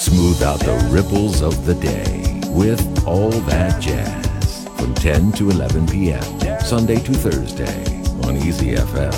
Smooth out the ripples of the day with All That Jazz from 10 to 11 p.m. Sunday to Thursday on Easy FM.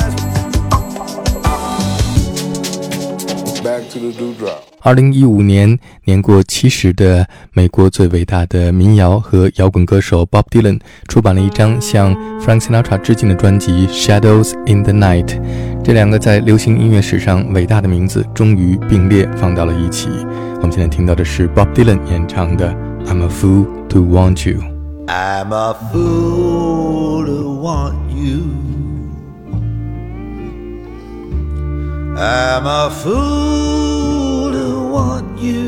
Back to the dewdrop. 2015年年过70的美国最伟大的民谣和摇滚歌手 Bob Dylan 出版了一张向 Frank Sinatra 致敬的专辑 Shadows in the Night。 这两个在流行音乐史上伟大的名字终于并列放到了一起。我们现在听到的是 Bob Dylan 演唱的 I'm a fool to want you。 I'm a fool to want you. I'm a fool to want you.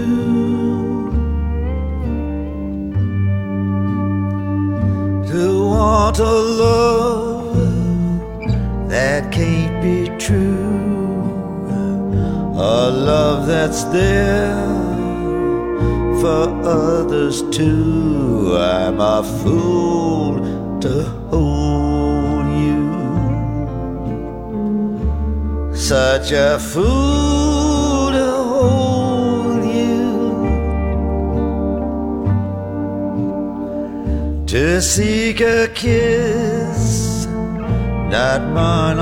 To want a love that can't be true, a love that's there for others too. I'm a fool to hold you, such a fool to hold you, to seek a kiss, not mine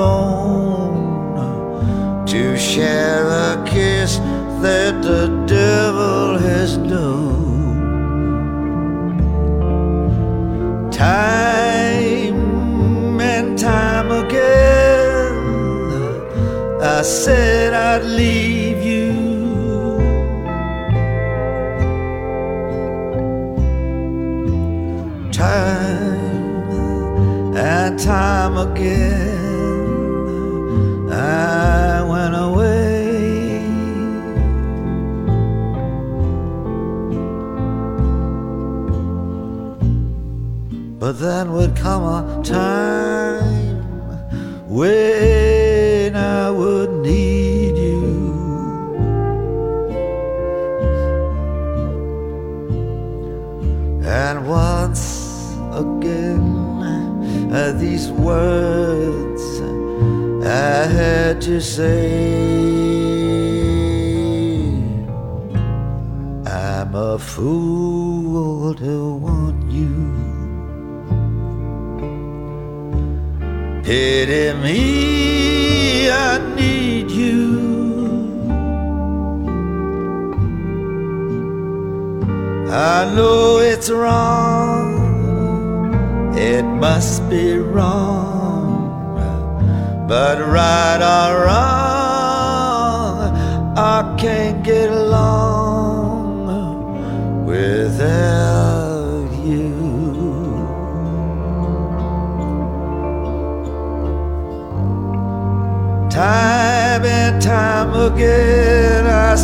alone, to share a kiss that the devil has known. Time and time again I said I'd leave you, time and time again I went away. But then would come a time when I would need you, and once again these words I had to say. I'm a fool to want you. Pity me, I need you. I know it's wrong, it must be wrong, but right or wrong, I can't get along without you. Time and time again I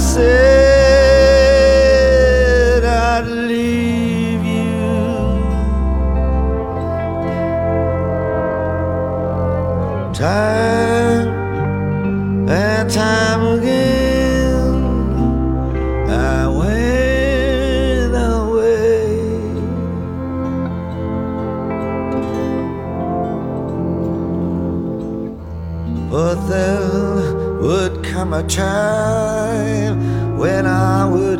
said I'd leave you. Time and time again I went away. But there would come a time when I would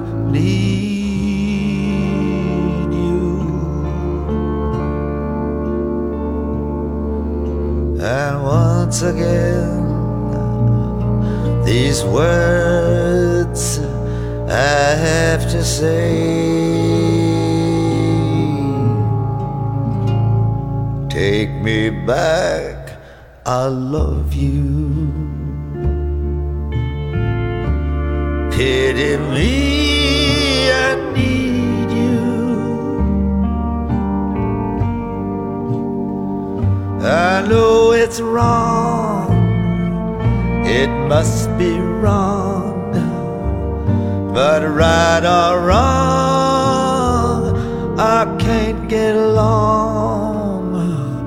need you, and once again these words I have to say. Take me back, I love you. Pity me, I need you. I know it's wrong, it must be wrong, but right or wrong, I can't get along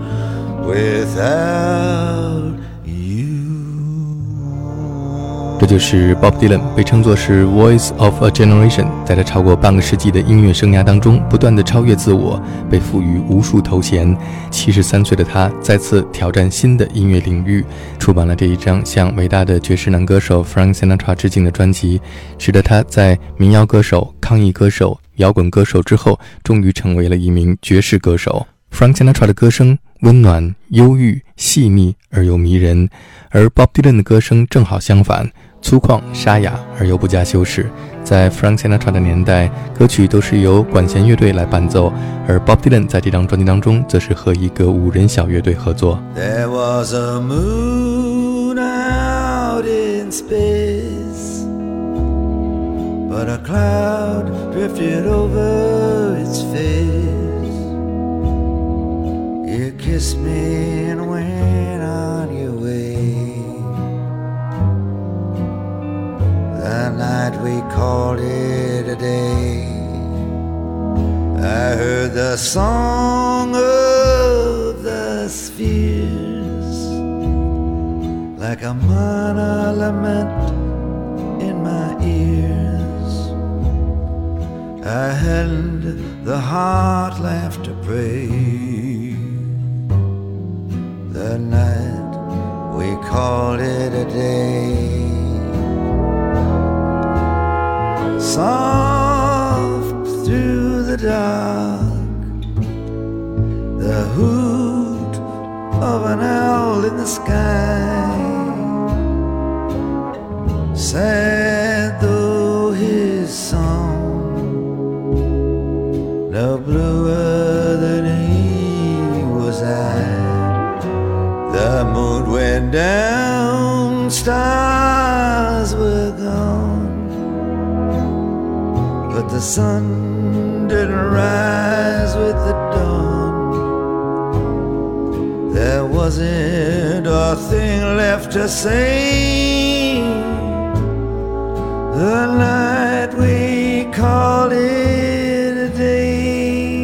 without you. 这就是 Bob Dylan， 被称作是 Voice of a Generation， 在他超过半个世纪的音乐生涯当中，不断地超越自我，被赋予无数头衔。73岁的他再次挑战新的音乐领域，出版了这一张向伟大的爵士男歌手 Frank Sinatra 致敬的专辑，使得他在民谣歌手、抗议歌手、摇滚歌手之后，终于成为了一名爵士歌手。Frank Sinatra 的歌声温暖、忧郁、细腻而又迷人，而 Bob Dylan 的歌声正好相反，粗犷、沙哑而又不加修饰。在 Frank Sinatra 的年代，歌曲都是由管弦乐队来伴奏，而 Bob Dylan 在这张专辑当中则是和一个5人小乐队合作。 There was a moon out in space, but a cloud drifted over its face.You kissed me and went on your way. The night we called it a day. I heard the song of the spheres like a minor lament in my ears. I hadn't the heart left to pray.The night we called it a day. Soft through the dark, the hoot of an owl in the sky. Sad though his song, no bluer than he was I.The moon went down, stars were gone, but the sun didn't rise with the dawn. There wasn't a thing left to say. The night we called it a day.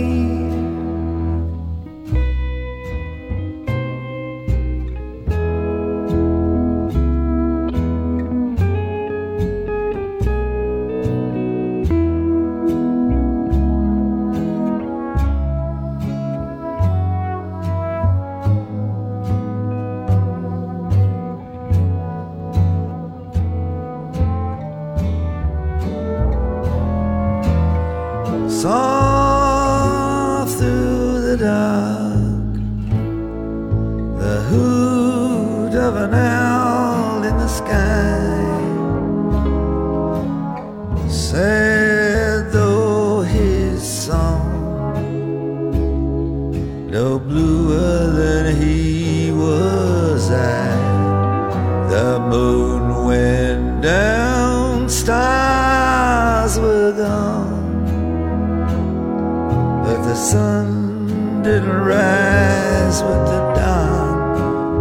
'Cause the sun didn't rise with the dawn.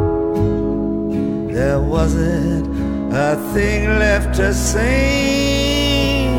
There wasn't a thing left to sing.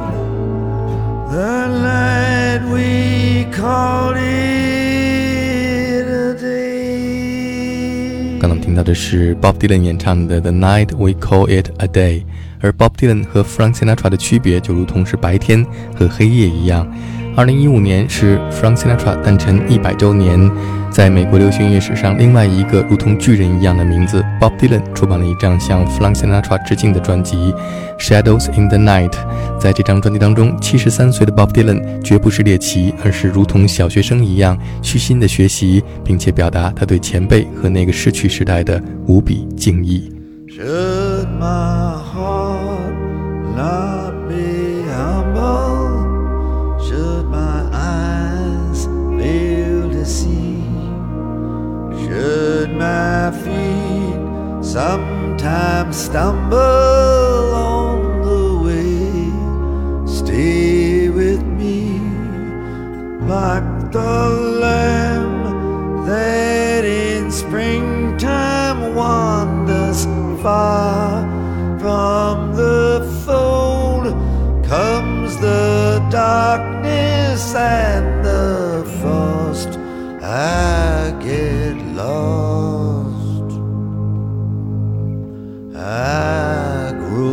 The night we called it a day. 刚刚听到的是 Bob Dylan 演唱的 The Night We Call It a Day， 而 Bob Dylan 和 Frank Sinatra 的区别就如同是白天和黑夜一样。2015年是 Frank Sinatra 诞辰100周年，在美国流行音乐史上另外一个如同巨人一样的名字 Bob Dylan 出版了一张向 Frank Sinatra 致敬的专辑 Shadows in the Night。 在这张专辑当中，73岁的 Bob Dylan 绝不是猎奇，而是如同小学生一样虚心的学习，并且表达他对前辈和那个逝去时代的无比敬意。 Should my heart not be humble, should my eyes fail to see, should my feet sometimes stumble on the way, stay with me like the lamb that in springtime wanders far from the fold. Comes the darkness and the frost, I get lost, I grow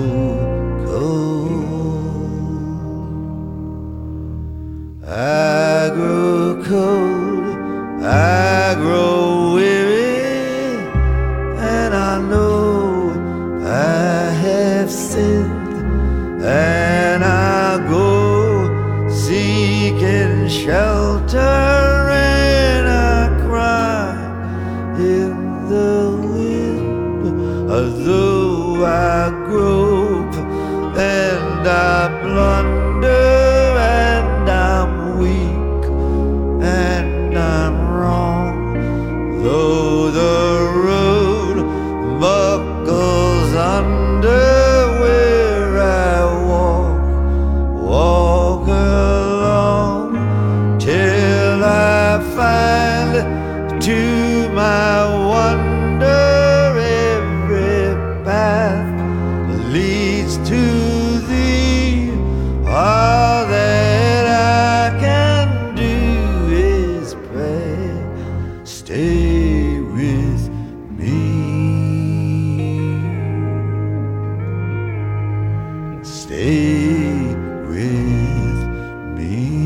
stay with me.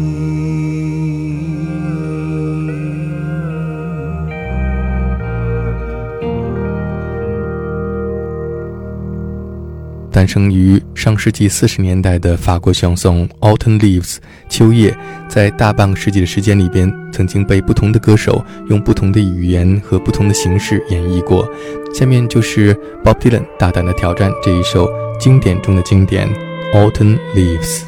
诞生于上世纪40年代的法国相颂 Autumn Leaves 秋叶，在大半个世纪的时间里边，曾经被不同的歌手用不同的语言和不同的形式演绎过。下面就是 Bob Dylan 大胆的挑战这一首经典中的经典 Autumn Leaves。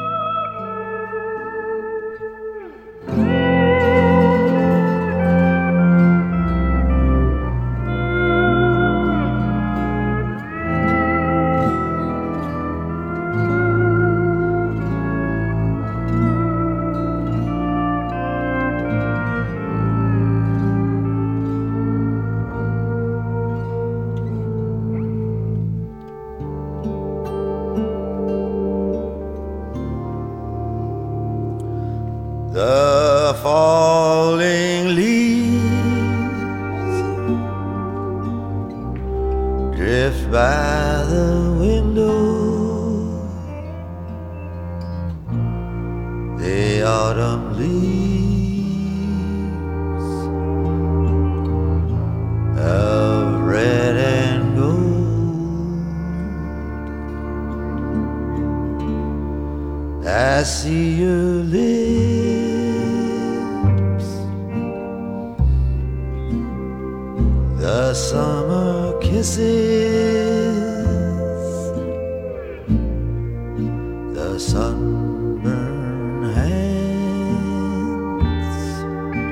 The falling leaves drift by the window. The autumn leaves of red and gold. I see your lips, the summer kisses, the sunburned hands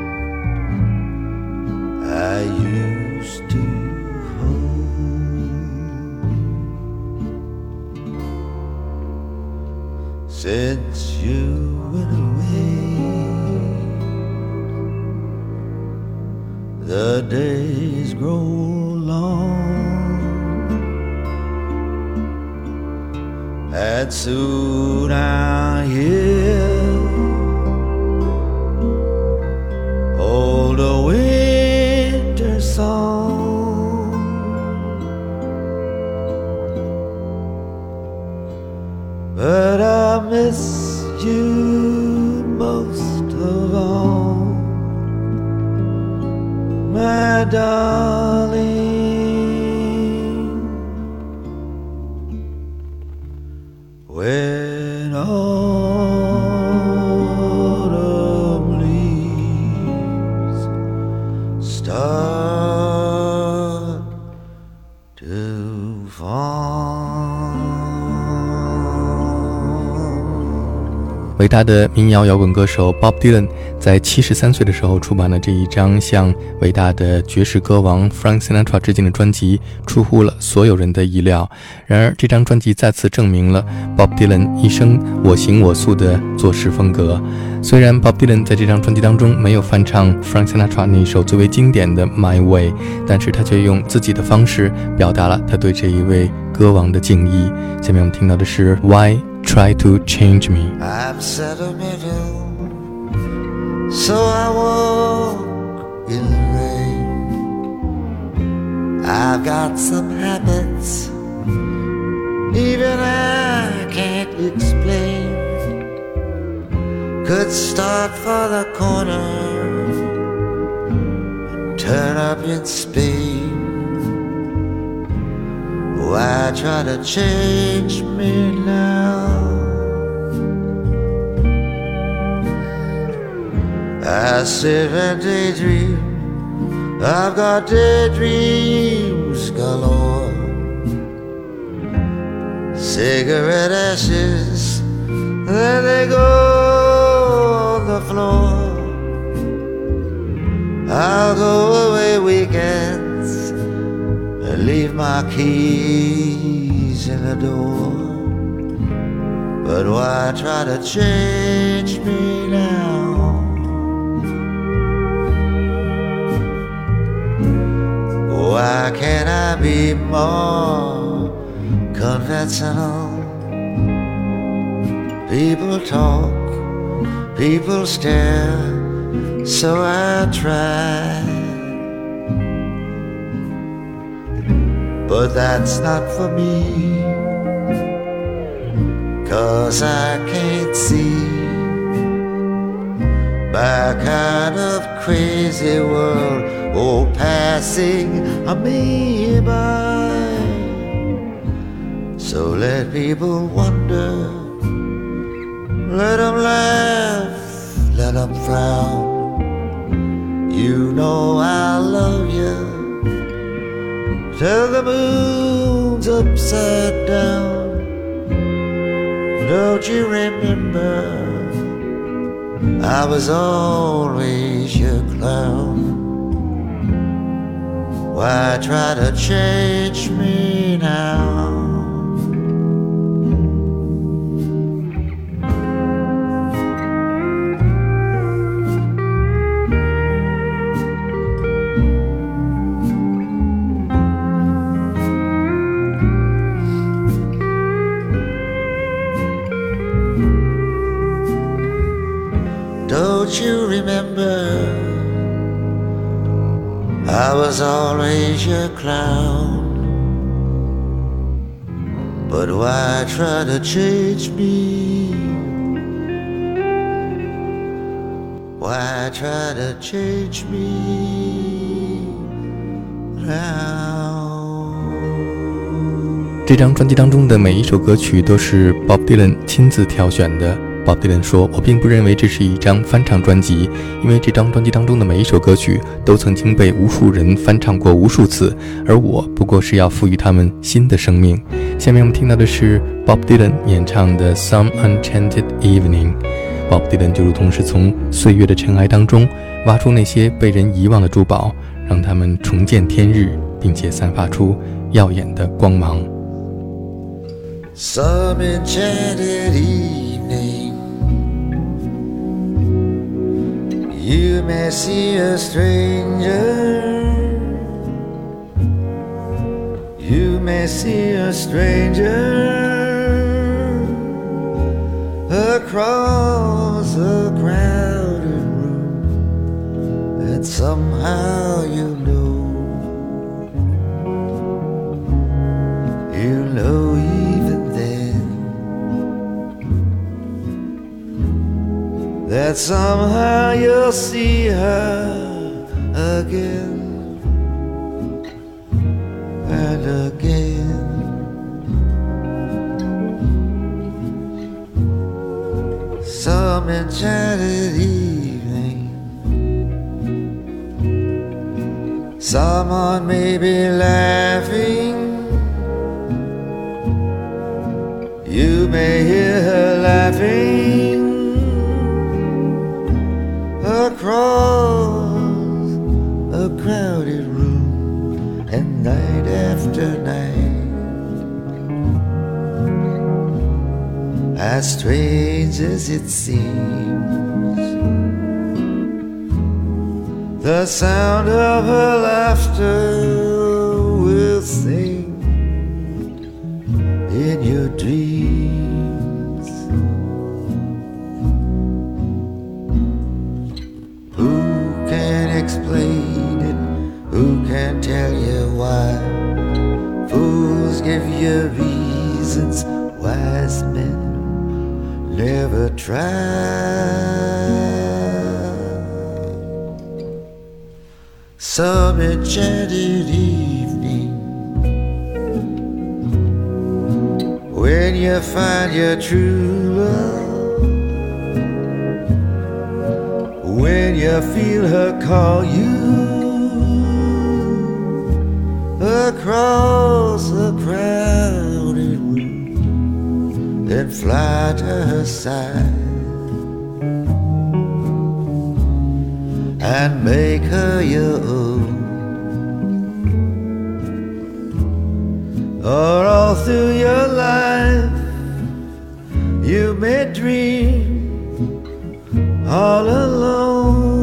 I used to hold. Since you went away, the days grow long, and soon I'll hear old winter song. But I miss you most of all, my darling. When autumn leaves start to fall. 伟大的民谣摇滚歌手 Bob Dylan 在73岁的时候出版了这一张向伟大的爵士歌王 Frank Sinatra 致敬的专辑，出乎了所有人的意料。然而这张专辑再次证明了 Bob Dylan 一生我行我素的做事风格。虽然 Bob Dylan 在这张专辑当中没有翻唱 Frank Sinatra 那首最为经典的 My Way， 但是他却用自己的方式表达了他对这一位歌王的敬意。下面我们听到的是 Why Try to Change Me。 I'm sentimental, so I walk in the rain. I've got some habits even I can't explain. Could start for the corner and turn up in Spain. Why try to change me now? I sit and daydream, I've got daydreams galore. Cigarette ashes, there they go on the floor. I'll go away weekends and leave my keys in the door. But why try to change me now? Why can't I be more conventional? People talk, people stare, so I try. But that's not for me. 'cause I can't see my kind of crazy world, oh, passing me by. So let people wonder, let them laugh, let them frown. You know I love you till the moon's upside down. Don't you remember, I was always your clown. Why try to change me now? Don't you remember, I was always your clown. But why try to change me? Why try to change me now? 这张专辑当中的每一首歌曲都是 Bob Dylan 亲自挑选的。Bob Dylan 说，我并不认为这是一张翻唱专辑，因为这张专辑当中的每一首歌曲都曾经被无数人翻唱过无数次，而我不过是要赋予他们新的生命。下面我们听到的是 Bob Dylan 演唱的 Some Enchanted Evening。 Bob Dylan 就如同是从岁月的尘埃当中挖出那些被人遗忘的珠宝，让他们重见天日，并且散发出耀眼的光芒。 Some enchanted evening, you may see a stranger, you may see a stranger across a crowded room, and somehow you know even then that somehow you'll see her again and again. Some enchanted evening, someone may be laughing, you may hear her laughing across a crowded room, and night after night, as strange as it seems, the sound of her laughter will sing in your dreams. Who can explain it? Who can tell you why? Fools give you reasons, wise men never try. Some enchanted evening, when you find your true love, when you feel her call you across a crowded room, then fly to her side and make her your own. Or all through your life you may dream all alone.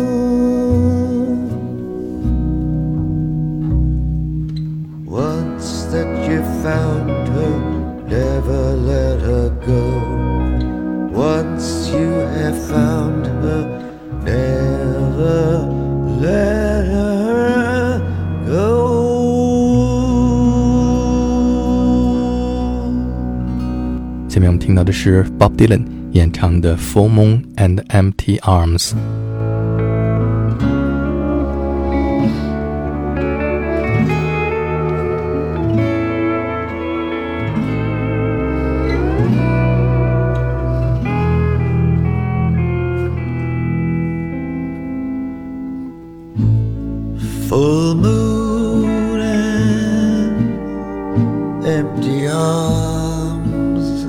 Once that you found her, never let her go. Once you have found her, never let her go. 下面面我们听到的是 Bob Dylan 演唱的 Full Moon and Empty Arms。 Full moon and empty arms.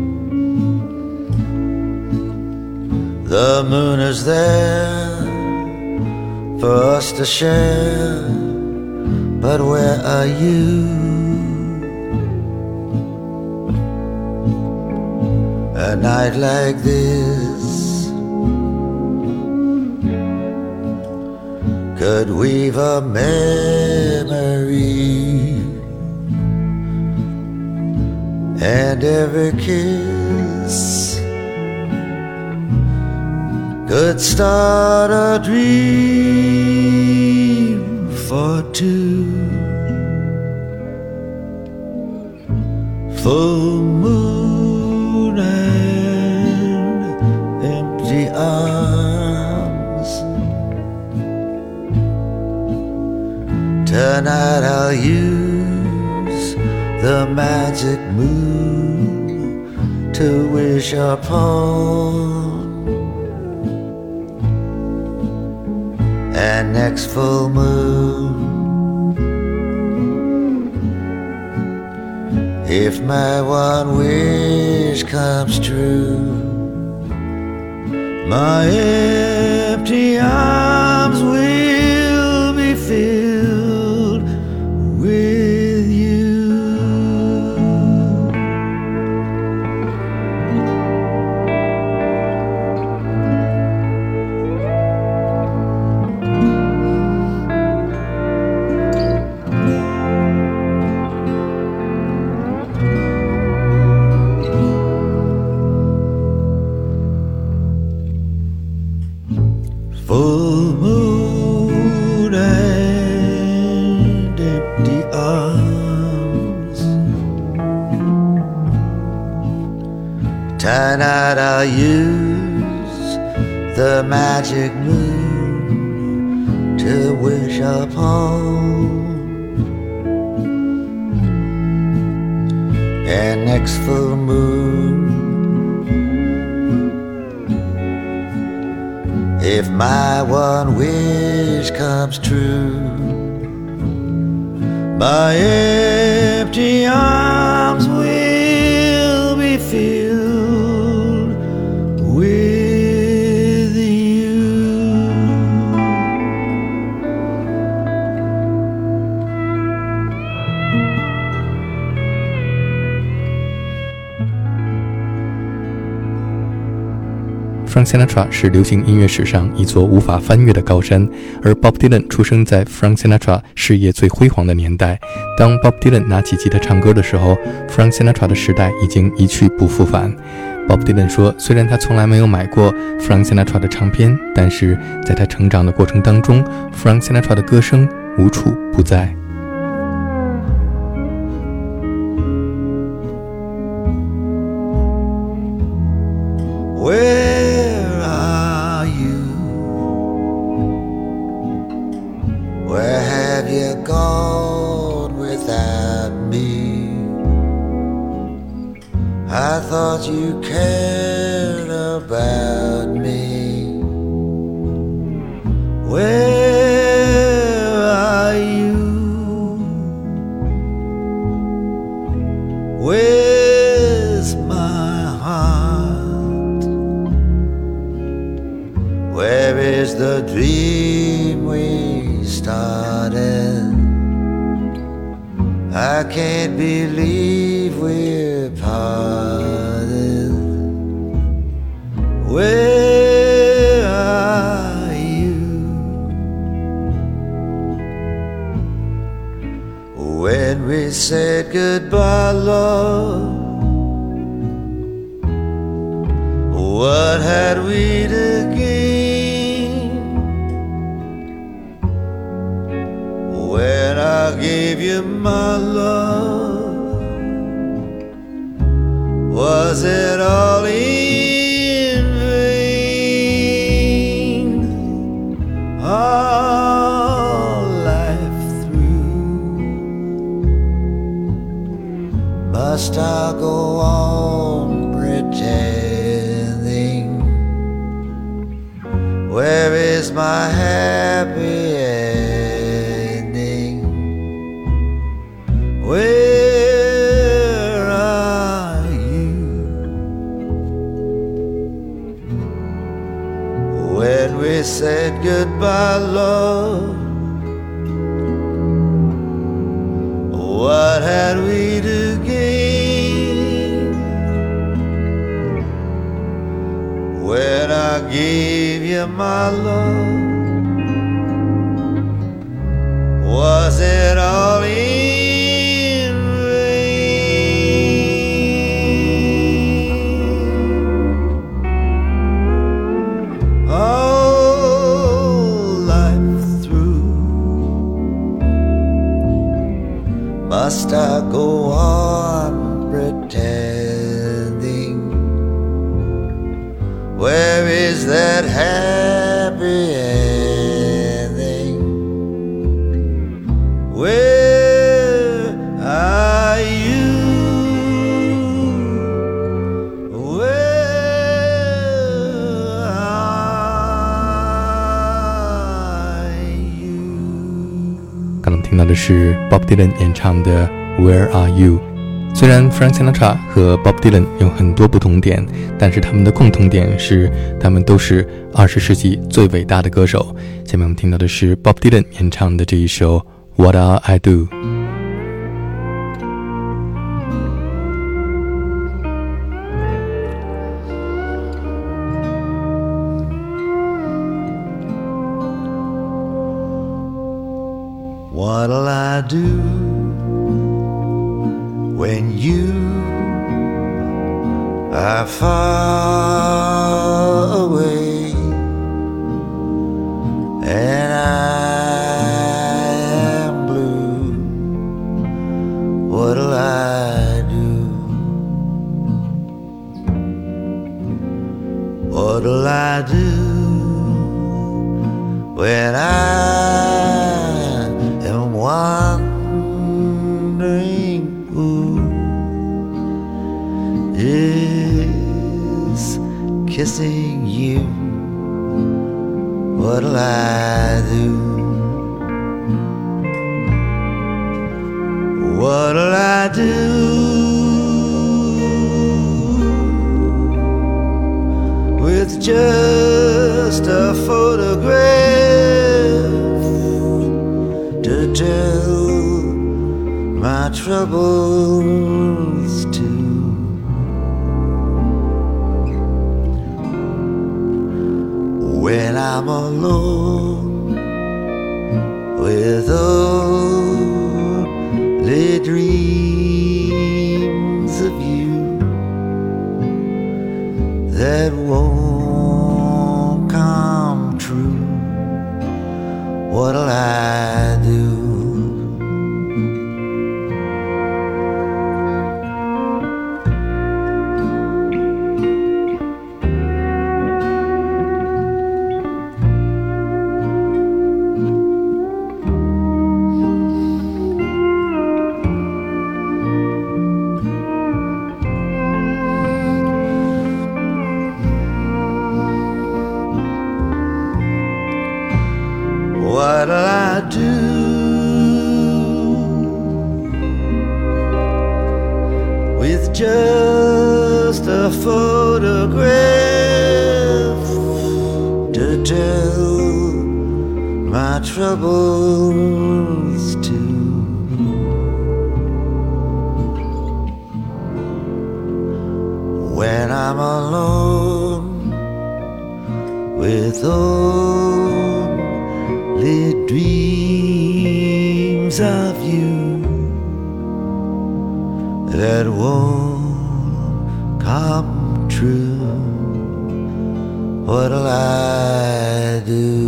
The moon is there for us to share, but where are you? A night like this could weave a memory, and every kiss could start a dream for two. Full moon and empty arms. Tonight I'll use the magic moon to wish upon, and next full moon, if my one wish comes true, my empty arms will be filled with you. Full moon and empty arms. Tonight I'll use the magic moon to wish upon, and next full moon, if my one wish comes true, my empty arms will be filled with you. Frank Sinatra 是流行音乐史上一座无法翻越的高山，而 Bob Dylan 出生在 Frank Sinatra 事业最辉煌的年代。当 Bob Dylan 拿起吉他唱歌的时候， Frank Sinatra 的时代已经一去不复返。Bob Dylan 说，虽然他从来没有买过 Frank Sinatra 的唱片，但是在他成长的过程当中， Frank Sinatra 的歌声无处不在。 Where are you? Where have you gone without me? I thought you cared about me. Where are you? Where's my heart? Where is the dream we started? I can't believe we're parted. Where are you? When we said goodbye, love, what had we to gain? When I gave you my love, was it all in vain? All life through, must I go on pretending? Where is my happy ending? Where are you? When we said goodbye, love, what had we to gain? When I gave you my love, was it all in vain? All life through, must I go on pretending? Where is that happy ending? Where are you? Where are you? 刚刚听到的是 Bob Dylan 演唱的 Where Are You。 虽然 Frank Sinatra 和 Bob Dylan 有很多不同点，但是他们的共同点是他们都是20世纪最伟大的歌手。下面我们听到的是 Bob Dylan 演唱的这一首 What'll I Do。 What'll I do when you are far away and I am blue? What'll I do? What'll I do when I am wondering who is kissing you? What'll I do? What'll I do with just a photograph to tell my troubles to? When I'm alone with only dreams of you that won't come true, what'll I do? What'll I do with just a photograph to tell my troubles to? When I'm alone with only dreams of you that won't come true, what'll I do?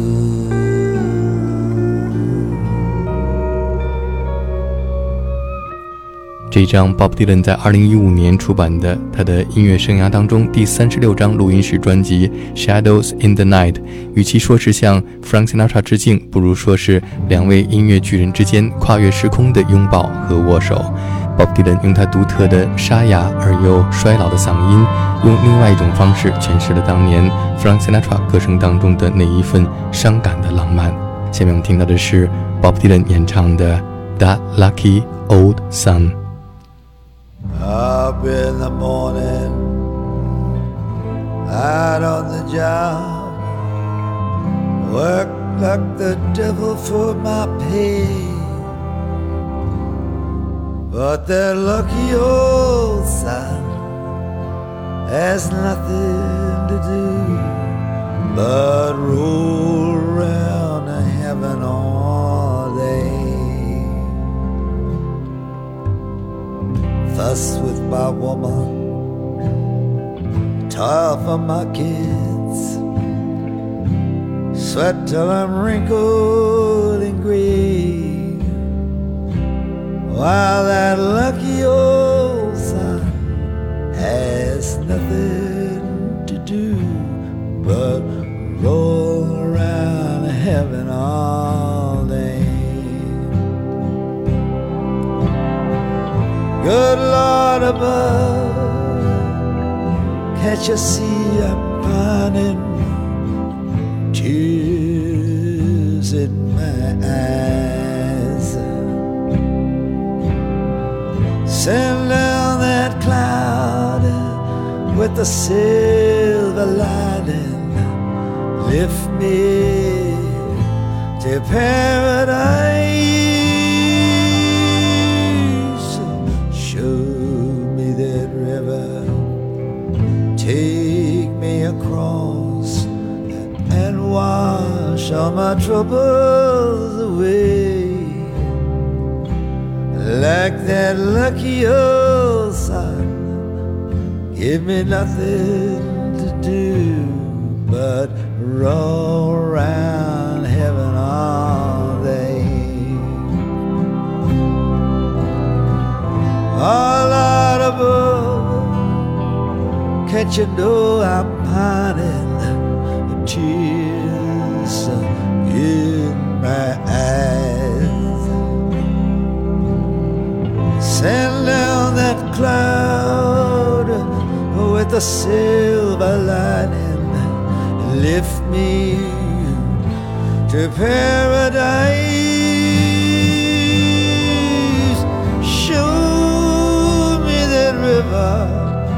这张 Bob Dylan 在2015年出版的他的音乐生涯当中第36张录音室专辑 Shadows in the Night， 与其说是向 Frank Sinatra 致敬，不如说是两位音乐巨人之间跨越时空的拥抱和握手。Bob Dylan 用他独特的沙哑而又衰老的嗓音，用另外一种方式诠释了当年 Frank Sinatra 歌声当中的那一份伤感的浪漫。下面我们听到的是 Bob Dylan 演唱的 That Lucky Old Sun。Up in the morning, out on the job, work like the devil for my pay, but that lucky old sun has nothing to do but roll around heaven all day.Fuss with my woman, toil for my kids, sweat till I'm wrinkled and gray, while that lucky old sun has nothing to do but roll around heaven all day.Good Lord above, can't you see I'm pining? Tears in my eyes. Send down that cloud with the silver lining. Lift me to paradise.Show me that river, take me across, and wash all my troubles away. Like that lucky old sun, give me nothing to do but roll around heaven all day.All out above, can't you know I'm pining? Tears in my eyes. Send down that cloud with the silver lining. Lift me to paradise.Show.River,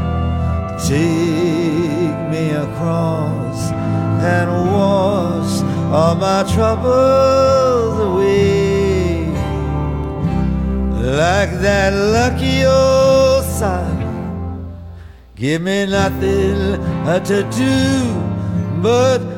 take me across and wash all my troubles away. Like that lucky old sun, give me nothing to do but